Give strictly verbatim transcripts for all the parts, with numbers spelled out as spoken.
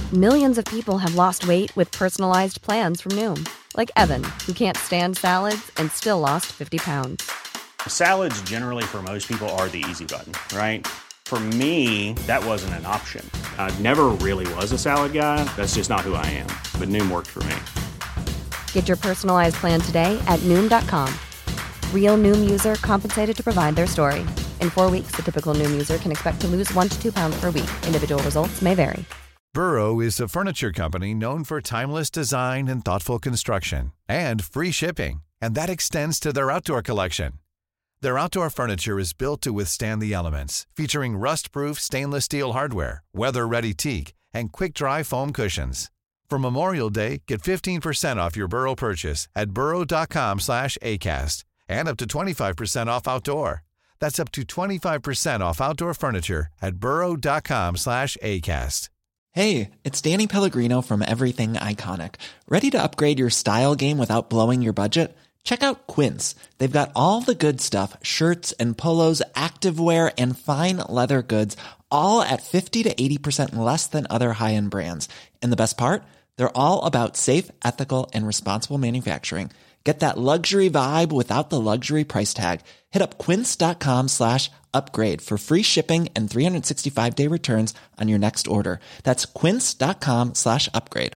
Millions of people have lost weight with personalized plans from Noom. Like Evan, who can't stand salads and still lost fifty pounds. Salads generally for most people are the easy button, right? For me, that wasn't an option. I never really was a salad guy. That's just not who I am. But Noom worked for me. Get your personalized plan today at Noom dot com. Real Noom user compensated to provide their story. In four weeks, the typical Noom user can expect to lose one to two pounds per week. Individual results may vary. Burrow is a furniture company known for timeless design and thoughtful construction, and free shipping, and that extends to their outdoor collection. Their outdoor furniture is built to withstand the elements, featuring rust-proof stainless steel hardware, weather-ready teak, and quick-dry foam cushions. For Memorial Day, get fifteen percent off your Burrow purchase at burrow dot com slash acast, and up to twenty-five percent off outdoor. That's up to twenty-five percent off outdoor furniture at burrow dot com slash acast. Hey, it's Danny Pellegrino from Everything Iconic. Ready to upgrade your style game without blowing your budget? Check out Quince. They've got all the good stuff, shirts and polos, activewear, and fine leather goods, all at fifty to eighty percent less than other high-end brands. And the best part? They're all about safe, ethical, and responsible manufacturing. Get that luxury vibe without the luxury price tag. Hit up quince.com slash upgrade for free shipping and three sixty-five day returns on your next order. That's quince.com slash upgrade.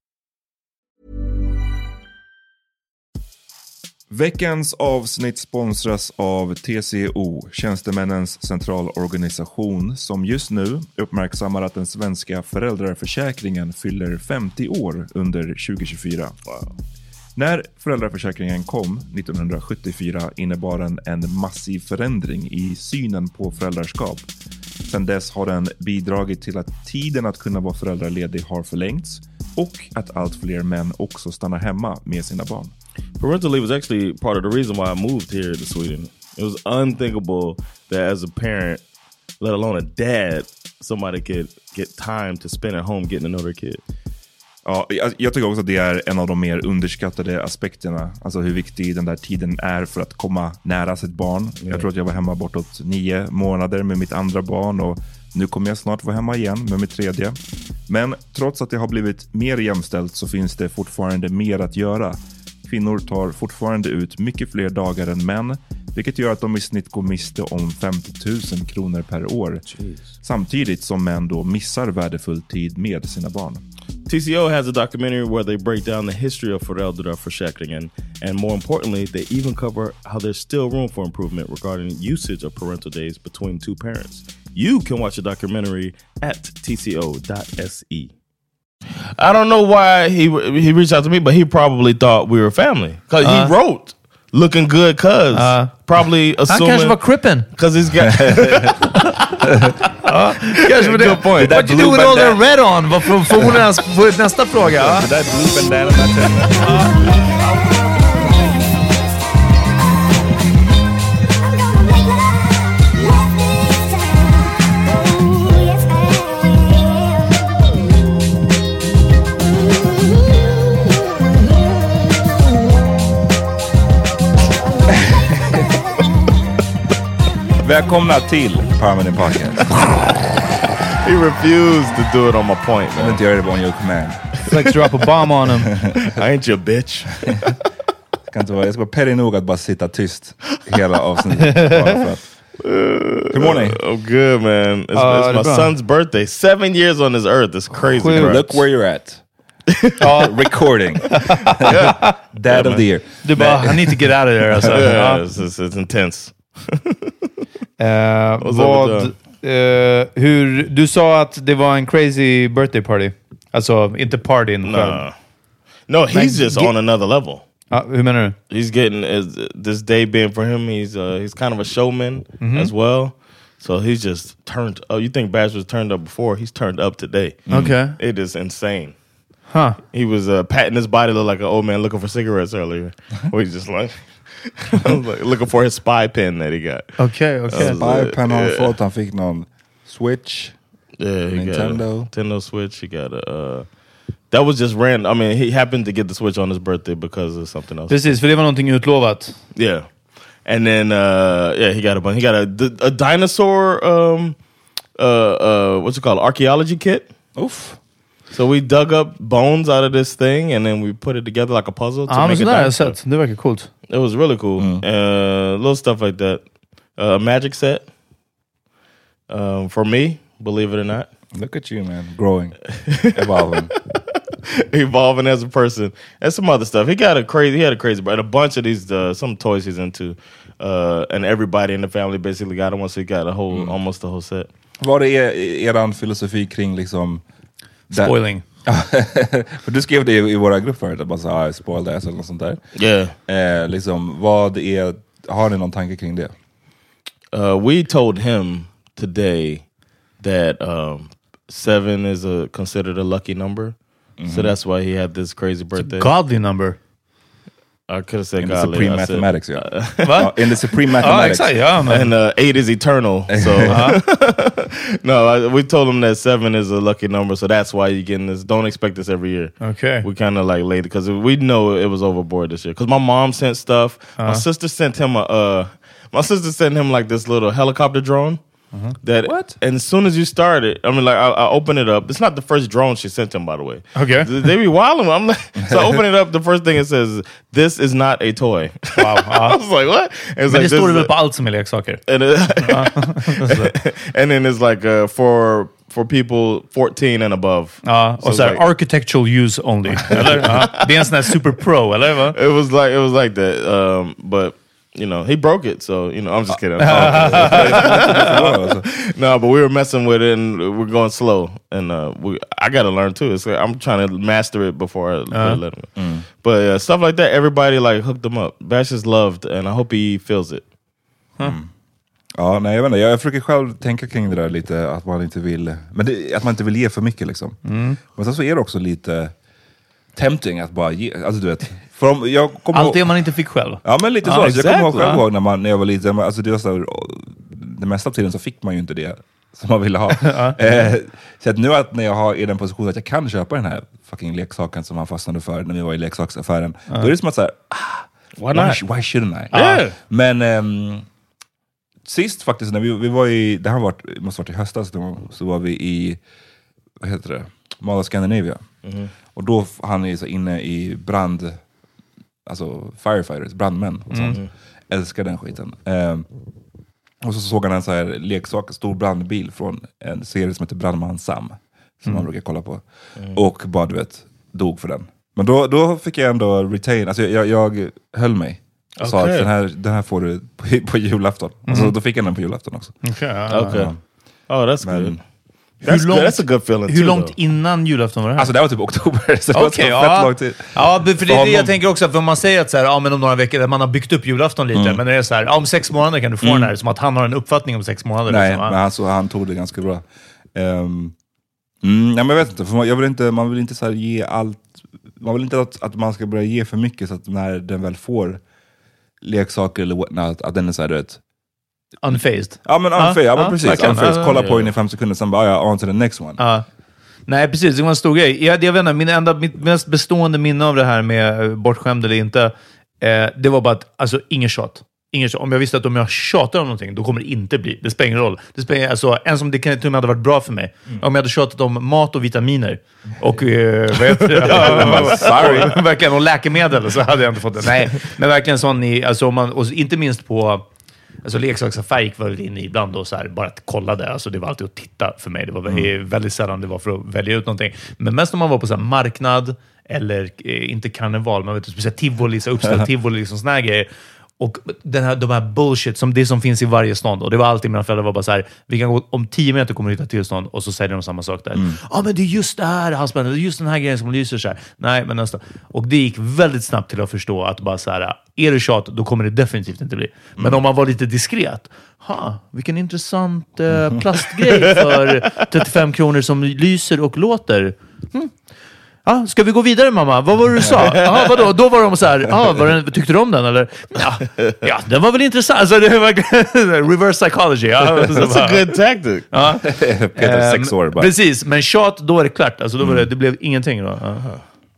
Veckans avsnitt sponsras av T C O, Tjänstemännens centralorganisation, som just nu uppmärksammar att den svenska föräldraförsäkringen fyller femtio år under tjugo tjugofyra. Wow. När föräldraförsäkringen kom nittonhundrasjuttiofyra innebar den en massiv förändring i synen på föräldraskap. Sedan dess har den bidragit till att tiden att kunna vara föräldraledig har förlängts och att allt fler män också stannar hemma med sina barn. Parental leave was actually part of the reason why I moved here to Sweden. It was unthinkable that as a parent, let alone a dad, somebody could get time to spend at home getting to know their kid. Ja, jag, jag tycker också att det är en av de mer underskattade aspekterna. Alltså hur viktig den där tiden är för att komma nära sitt barn. Yeah. Jag tror att jag var hemma bortåt nio månader med mitt andra barn och nu kommer jag snart vara hemma igen med mitt tredje. Men trots att det har blivit mer jämställt så finns det fortfarande mer att göra. Kvinnor tar fortfarande ut mycket fler dagar än män, vilket gör att de i snitt går miste om femtio tusen kronor per år. Jeez. Samtidigt som män då missar värdefull tid med sina barn. T C O has a documentary where they break down the history of föräldraförsäkringen, and more importantly, they even cover how there's still room for improvement regarding usage of parental days between two parents. You can watch the documentary at t c o dot s e. I don't know why he he reached out to me, but he probably thought we were family. Because uh, he wrote, looking good cuz. Uh, probably assuming... Han kanske var crippen. Because he's got... uh, kanske var det. Good point. What you do with all that red on? Vad får hon nästa fråga? Det där blue bandana. Välkomna till Permanent Podcast. He refused to do it on my point, man. Jag vill inte göra det on your command. Let's drop a bomb on him. I ain't your bitch. Jag, kan inte vara, jag ska vara petty nog att bara sitta tyst hela avsnittet. Hur mår ni? Oh, good, man. It's, uh, it's my son's birthday. Seven years on this earth. It's crazy. Well, look where you're at. uh, recording. Yeah. Dad yeah, of man. the year. Du bara, I need to get out of there. Alltså. Yeah, it's, it's, it's intense. uh, vad, uh, hur, du sa att det var en crazy birthday party. Alltså, inte party in no. no, he's like, just get, on another level. Uh, hur menar du? He's getting, uh, this day being for him, he's uh, he's kind of a showman mm-hmm. as well. So he's just turned, oh, you think Bash was turned up before? He's turned up today. Okay. It is insane. Huh. He was uh, patting his body, look like an old man looking for cigarettes earlier. Where he's just like... like, looking for his spy pen that he got. Okay, okay. Spy pen han yeah. fått. Han fick någon Switch. Yeah, he Nintendo. got a Nintendo Switch. He got a... Uh, that was just random. I mean, he happened to get the Switch on his birthday because of something else. Precis, för det var någonting utlovat. Yeah. And then, uh, yeah, he got a bunch. He got a, a dinosaur, um, uh, uh, what's it called? Archaeology kit. Oof. So we dug up bones out of this thing and then we put it together like a puzzle to ah, make men a sådär dinosaur. jag sett. Det verkar coolt. It was really cool. Mm. Uh, little stuff like that. A uh, magic set. Um, for me, believe it or not. Look at you, man. Growing. Evolving. Evolving as a person. And some other stuff. He got a crazy, he had a crazy, but a bunch of these, uh, some toys he's into. Uh, and everybody in the family basically got one, so he got a whole, mm. almost the whole set. Vad är eran filosofi kring liksom... Spoiling. För du skrev det i våra grupp förut, att bara såhär, ah, spoil det, eller något sånt där. Yeah. Eh, liksom, vad är... Har ni någon tanke kring det? Uh, we told him today that um, seven is a considered a lucky number. Mm-hmm. So that's why he had this crazy birthday. It's a godly number. I could have said in godly. The supreme I mathematics, said, yeah. Uh, in the supreme mathematics. Oh, exactly, yeah, man. And uh, eight is eternal. So uh-huh. no, I, we told him that seven is a lucky number, so that's why you're getting this. Don't expect this every year. Okay. We kind of like laid it because we know it was overboard this year. Because my mom sent stuff. Uh-huh. My sister sent him a. Uh, my sister sent him like this little helicopter drone. Uh-huh. That what? And as soon as you start it, I mean, like I, I open it up. It's not the first drone she sent him, by the way. Okay. They be wilding. I'm like, so I open it up. The first thing it says, "This is not a toy." Wow. Uh-huh. I was like, what? Men like, det står det väl på allt som är leksaker. And, it, and then it's like uh, for for people fourteen and above. Ja, och so så här, like, architectural use only. Eller? Ja. Det är en sån här super pro, eller va? It was like it was like that, um, but. You know, he broke it, so, you know, I'm just kidding. No, but we were messing with it, and we're going slow. And uh, we, I got to learn, too. It's like, I'm trying to master it before I uh-huh. let him go. Mm. But uh, stuff like that, everybody, like, hooked them up. Bash is loved, and I hope he feels it. Huh. Mm. Ja, nej, jag vet inte. Jag försöker själv tänka kring det där lite, att man inte vill... Men det, att man inte vill ge för mycket, liksom. Mm. Men sen så är det också lite... tempting att bara ge, alltså du vet om, jag allt det man inte fick själv. Ja, men lite ah, så, exactly. Jag kommer ihåg själv ihåg när, man, när jag var liten, alltså det var så, det mesta av tiden så fick man ju inte det som man ville ha. eh, så att nu att när jag har i den positionen att jag kan köpa den här fucking leksaken som man fastnade för när vi var i leksaksaffären, ah. då är det som att såhär, ah, why, why, why shouldn't I? Ah. Yeah. Men um, sist faktiskt när vi, vi var i, det här var, måste varit i höstas, då, så var vi i, vad heter det, Mall of Scandinavia. Mm-hmm. Och då han är så inne i brand, alltså firefighters, brandmän och sånt. Mm. Älskar den skiten. Um, och så såg han en så här leksak, stor brandbil från en serie som heter Brandman Sam, som mm. man brukar kolla på. Mm. Och bara, du vet, dog för den. Men då, då fick jag ändå retain, alltså jag, jag höll mig. Och okay. sa att den här, den här får du på, på julafton. Mm. Alltså då fick jag den på julafton också. Okej. Okay. Okay. Oh, that's Men, good. That's, långt, that's a good feeling hur too, långt though. Innan julafton var det här? Alltså det var typ oktober, så det okay, var så ja. fett lång tid. Ja, för det är det jag tänker också, för man säger att så här, ja, men om några veckor, man har byggt upp julafton lite, mm. men det är så här, ja, om sex månader kan du få mm. den här, som att han har en uppfattning om sex månader. Nej, liksom, men han, så, han tog det ganska bra. Um, mm, ja, men jag vet inte, för man, jag vill inte, man vill inte så här ge allt, man vill inte att, att man ska börja ge för mycket, så att när den väl får leksaker eller whatnot, att den är så här, du vet, unfazed. Ja, men unfazed, ja, ah, men precis. ah, Unfazed. ah, Kolla ah, på ja. den i fem sekunder, sen bara, ja, on to the next one. Ah. Nej, precis. Det var en stor grej. Jag, jag vet inte, min enda, mitt mest bestående minne av det här med bortskämd eller inte, eh, det var bara att, alltså, ingen tjat. Ingen tjat. Om jag visste att om jag tjatar om någonting, då kommer det inte bli. Det spelar ingen roll. Det spelar, alltså, en som det kan till och med hade varit bra för mig. Mm. Om jag hade tjatat om mat och vitaminer. Och, eh, vad heter det? ja, sorry. Verkligen, och läkemedel, så hade jag inte fått det. Nej, men verkligen sån i, alltså, om man, och inte minst på... Alltså leksaksaffär gick väl in i ibland och så här, bara att kolla det. Alltså det var alltid att titta för mig. Det var väldigt, mm. väldigt sällan det var för att välja ut någonting. Men mest om man var på så här marknad eller eh, inte karneval, man vet inte, speciellt tivoli, så uppställd tivoli, liksom såna här grejer. Och den här, de här bullshit, som det som finns i varje stånd. Och det var alltid, mina föräldrar var bara så här, vi kan gå om tio meter kommer vi hitta tillstånd, och så säger de samma sak där. Ja, mm. ah, men det är just det här, halsbandet, det är just den här grejen som lyser så här. Nej, men nästan. Och det gick väldigt snabbt till att förstå att bara så här, är det tjat, då kommer det definitivt inte bli. Men mm. om man var lite diskret, ha, vilken intressant eh, plastgrej för trettiofem kronor som lyser och låter. Hmm. Ah, ska vi gå vidare, mamma? Vad var det du sa? Aha, vadå? Då var de så här, ah, var den, tyckte du om den? Eller? Ja, ja, den var väl intressant. Alltså, det var reverse psychology. Ja. That's a good tactic. Ja. Peter, sex år bara. Precis, men tjat, då är det klart. Alltså, då var det, det blev ingenting. Då. Aha.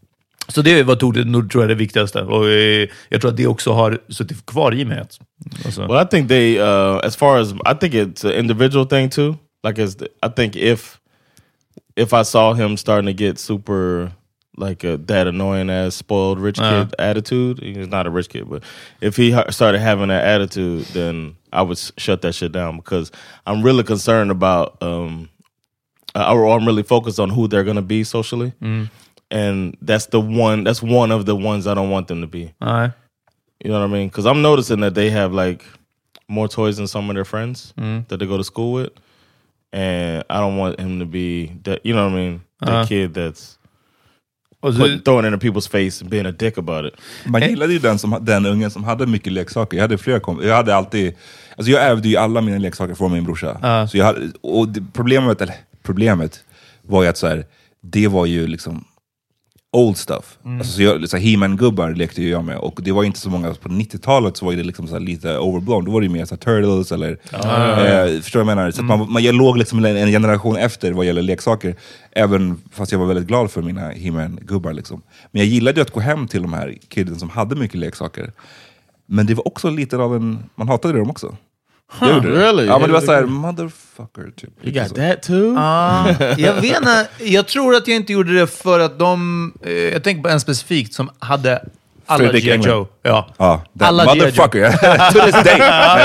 Så det var tog det, nog tror jag det viktigaste. Och eh, jag tror att det också har suttit kvar i mig. Alltså. Well, I think they, uh, as far as, I think it's an individual thing too. Like, as the, I think if if I saw him starting to get super like a, that annoying ass spoiled rich kid uh. attitude, he's not a rich kid, but if he ha- started having that attitude, then I would s- shut that shit down because I'm really concerned about, um, uh, or I'm really focused on who they're going to be socially. Mm. And that's the one, that's one of the ones I don't want them to be. Uh. You know what I mean? Because I'm noticing that they have like more toys than some of their friends mm. that they go to school with. And I don't want him to be that, you know what I mean? The uh. kid that's Put, throwing it in people's face and being a dick about it. Man gillade ju den, som, den ungen som hade mycket leksaker. Jag hade flera kom- Jag hade alltid... Alltså jag ärvde ju alla mina leksaker från min brorsa. Uh. Så jag hade, och det, problemet, eller problemet var ju att så här, det var ju liksom old stuff. Mm. Alltså så jag, så här, He-Man-gubbar lekte ju jag med. Och det var inte så många, på nittiotalet så var det liksom så här lite overblown. Då var det ju mer så här Turtles eller... Uh. Eh, förstår jag menar? Så mm. att man, man, jag låg liksom en, en generation efter vad gäller leksaker. Även fast jag var väldigt glad för mina He-Man-gubbar liksom. Men jag gillade ju att gå hem till de här kidden som hade mycket leksaker. Men det var också lite av en... Man hatade dem också. Huh, really? Ja, men det var såhär, motherfucker typ. You got that too? Uh, jag vet inte, jag tror att jag inte gjorde det för att de, eh, jag tänker på en specifikt som hade alla G I. Joe. Ja, ah, alla motherfucker. To this day.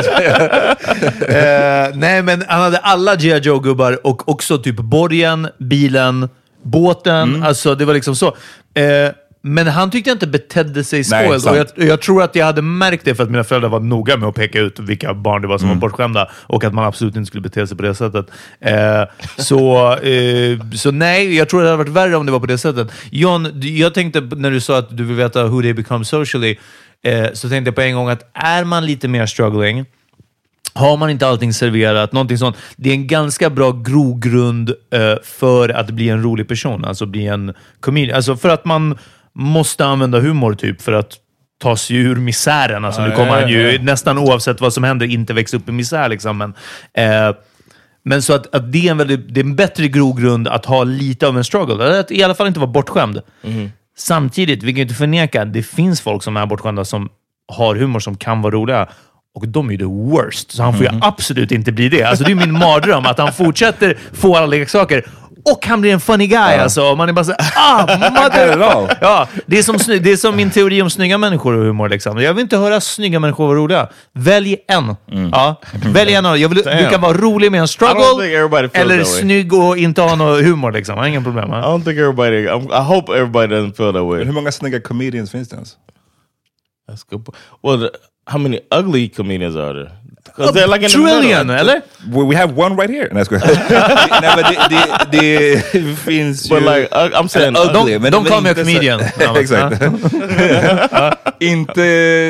uh, nej, men han hade alla G I. Joe-gubbar och också typ borgen, bilen, båten. Mm. Alltså, det var liksom så. Uh, Men han tyckte inte betedde sig spoiled. Och jag, jag tror att jag hade märkt det för att mina föräldrar var noga med att peka ut vilka barn det var som mm. var bortskämda. Och att man absolut inte skulle bete sig på det sättet. Eh, så, eh, så nej, jag tror det hade varit värre om det var på det sättet. John, jag tänkte när du sa att du vill veta who they become socially. Eh, så tänkte jag på en gång att är man lite mer struggling, har man inte allting serverat, någonting sånt, det är en ganska bra grogrund eh, för att bli en rolig person. Alltså bli en comedian. Alltså för att man måste använda humor typ för att ta sig ur misären. Alltså, ja, nu kommer han ju ja, ja. nästan oavsett vad som händer inte växa upp i misär. Liksom. Men, eh, men så att, att det, är en väldigt, det är en bättre grogrund att ha lite av en struggle. Att i alla fall inte vara bortskämd. Mm. Samtidigt, vi kan ju inte förneka att det finns folk som är bortskämda som har humor som kan vara roliga. Och de är ju the worst. Så han får ju mm. absolut inte bli det. Alltså det är min mardröm att han fortsätter få alla leksaker. Och han blir en funny guy, ja. Alltså. Man är bara så ah, mother... ja, det är, som, det är som min teori om snygga människor och humor. Liksom. Jag vill inte höra snygga människor vara roliga. Välj en. Mm. Ja, välj en. Jag vill, du kan vara rolig med en struggle eller snygg och inte ha någon humor. Liksom. Jag har ingen problem. I don't think everybody... I hope everybody doesn't feel that way. Hur många snygga comedians finns det ens? That's good. Well, how many ugly comedians are there? A like trillion, eller? We have one right here. Nej, Nej men det, det, det finns ju... But like, I'm saying uh, ugly. Don't, don't call me a comedian. Exakt. Inte...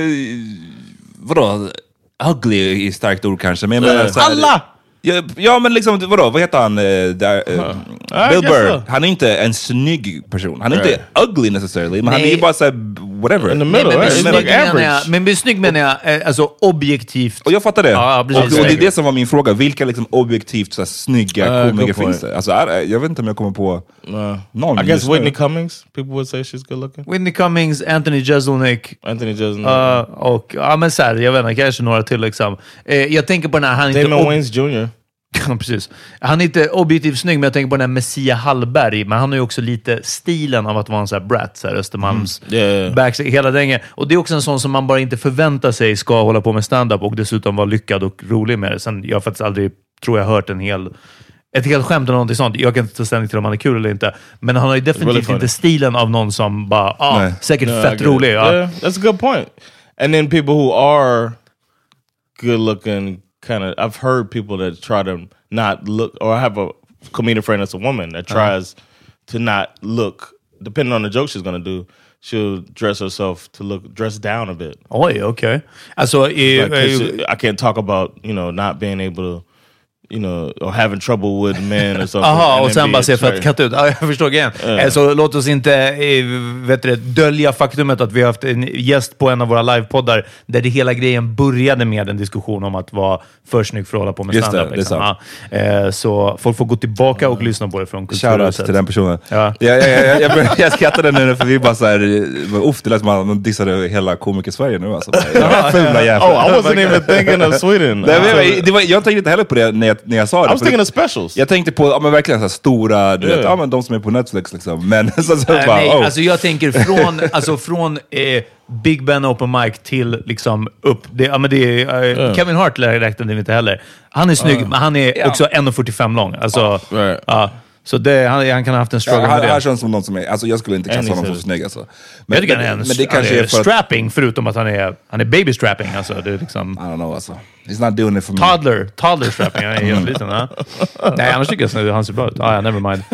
Vadå? Ugly är starkt ord kanske. Men jag menar, så här, alla! Ja, ja, men liksom, vadå? Vad heter han? Uh, där, uh, uh, Bill Burr. So. Han är inte en snygg person. Han är right. inte ugly necessarily, men nej. Han är ju bara såhär, whatever. In the middle, nej, men right? Like average. Men blir snygg menar jag, alltså objektivt. Och jag fattar det. Ja, och, och det är det som var min fråga. Vilka liksom objektivt så här, snygga uh, komiker finns det? Alltså, jag, jag vet inte om jag kommer på uh, någon. I guess Whitney nu. Cummings. People would say she's good looking. Whitney Cummings, Anthony Jeselnik. Anthony Jeselnik. Uh, och, ja men såhär, jag vet inte, kanske några till liksom. Eh, jag tänker på den här, han Damon inte... Ob- Wayans junior Ja, precis. Han är inte objektivt snygg, men jag tänker på den här Messia Hallberg. Men han har ju också lite stilen av att vara en sån här brat, så här Östermalms mm. yeah, yeah. back, hela den. Och det är också en sån som man bara inte förväntar sig ska hålla på med stand-up och dessutom vara lyckad och rolig med det. Sen, jag har faktiskt aldrig, tror jag, hört en hel, ett helt skämt eller någonting sånt. Jag kan inte ta ställning till om han är kul eller inte. Men han har ju definitivt inte stilen av någon som bara, ah, Nej. säkert no, fett rolig. Ja. Yeah, that's a good point. And then people who are good looking, kind of, I've heard people that try to not look, or I have a comedian friend that's a woman that tries uh-huh. to not look, depending on the joke she's going to do, she'll dress herself to look, dress down a bit. Oj, okay. Alltså, I, like, I, I can't talk about, you know, not being able to, you know, or having trouble with men or something. Aha, och sen bara se för att katta ut. Ja, jag förstår igen. Uh. Så låt oss inte vet du, dölja faktumet att vi har haft en gäst på en av våra livepoddar där det hela grejen började med en diskussion om att vara för snygg för att hålla på med stand-up. Liksom. Ja. Så folk får gå tillbaka och lyssna på det från kulturhuset. Shoutout till den personen. Ja. Jag, jag, jag, jag, jag, jag skrattade nu för vi bara såhär, uff, det lät som att man dissade hela komiker-Sverige nu. Alltså. Fula jävlar. Oh, I wasn't even thinking of Sweden. Det var, det var, jag tänkte inte heller på det när jag när jag sa det. I was thinking of specials. Jag tänkte på, ja men verkligen så här stora, du Yeah. vet, ja men de som är på Netflix liksom. Men så, så Äh, bara, nej, oh. alltså jag tänker från, alltså från eh, Big Ben Open Mic till liksom upp. Det, ja, men det är, eh, Yeah. Kevin Hart räknade vi inte heller. Han är snygg, men han är också en komma fyrtiofem lång. Alltså, Right. ja, så det, han, han kan ha haft en struggle Ja, med här, det. här känns som någon som är, alltså jag skulle inte klassa And he honom said som it. snygg alltså. Men, jag tycker men, han är, en, men det kanske han är är för att, strapping, förutom att han är, han är baby strapping. Alltså, det är liksom... I don't know alltså. He's not doing it for me. Toddler, toddler strapping. Han är helt liten. Ja. Nej, annars tycker jag att han ser bra ut. Ah, ja, never mind.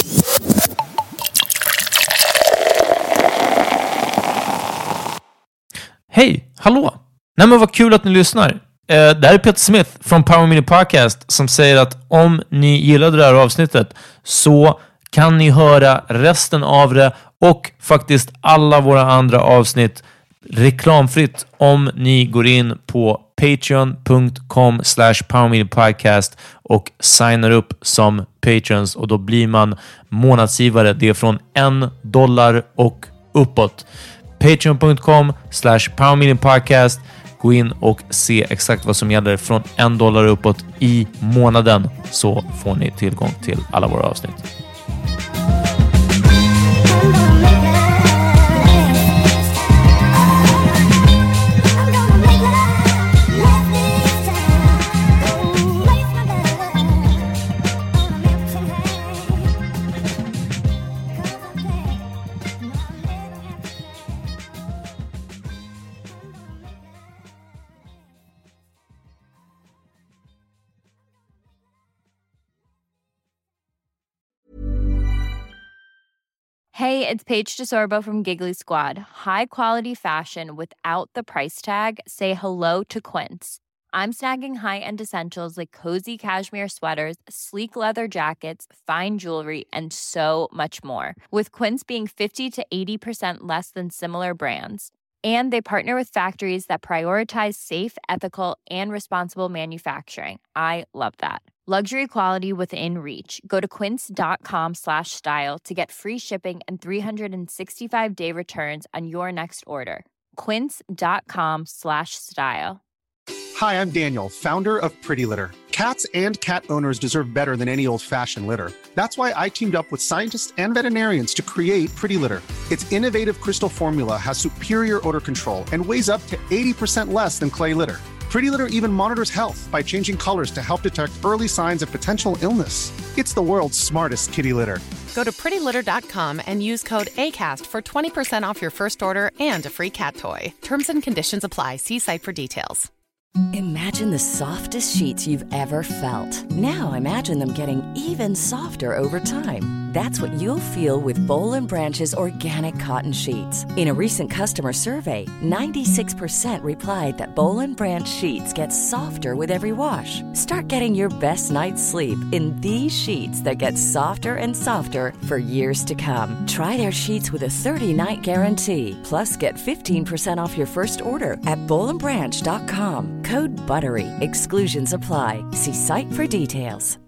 Hej, hallå! Nej men vad kul att ni lyssnar. Eh, det här är Peter Smith från Power Mini Podcast som säger att om ni gillade det här avsnittet så kan ni höra resten av det och faktiskt alla våra andra avsnitt reklamfritt om ni går in på patreon.com slash powerminipodcast och signar upp som patrons och då blir man månadsgivare. Det är från en dollar och uppåt. Patreon.com slash powerminipodcast. Gå in och se exakt vad som gäller från en dollar uppåt i månaden så får ni tillgång till alla våra avsnitt. Hey, it's Paige DeSorbo from Giggly Squad. High quality fashion without the price tag. Say hello to Quince. I'm snagging high-end essentials like cozy cashmere sweaters, sleek leather jackets, fine jewelry, and so much more. With Quince being fifty to eighty percent less than similar brands. And they partner with factories that prioritize safe, ethical, and responsible manufacturing. I love that. Luxury quality within reach. Go to quince.com slash style to get free shipping and three sixty-five day returns on your next order. Quince.com slash style. Hi, I'm Daniel, founder of Pretty Litter. Cats and cat owners deserve better than any old-fashioned litter. That's why I teamed up with scientists and veterinarians to create Pretty Litter. Its innovative crystal formula has superior odor control and weighs up to eighty percent less than clay litter. Pretty Litter even monitors health by changing colors to help detect early signs of potential illness. It's the world's smartest kitty litter. Go to pretty litter dot com and use code ACAST for twenty percent off your first order and a free cat toy. Terms and conditions apply. See site for details. Imagine the softest sheets you've ever felt. Now imagine them getting even softer over time. That's what you'll feel with Boll and Branch's organic cotton sheets. In a recent customer survey, ninety-six percent replied that Boll and Branch sheets get softer with every wash. Start getting your best night's sleep in these sheets that get softer and softer for years to come. Try their sheets with a thirty-night guarantee. Plus, get fifteen percent off your first order at boll and branch dot com. Code BUTTERY. Exclusions apply. See site for details.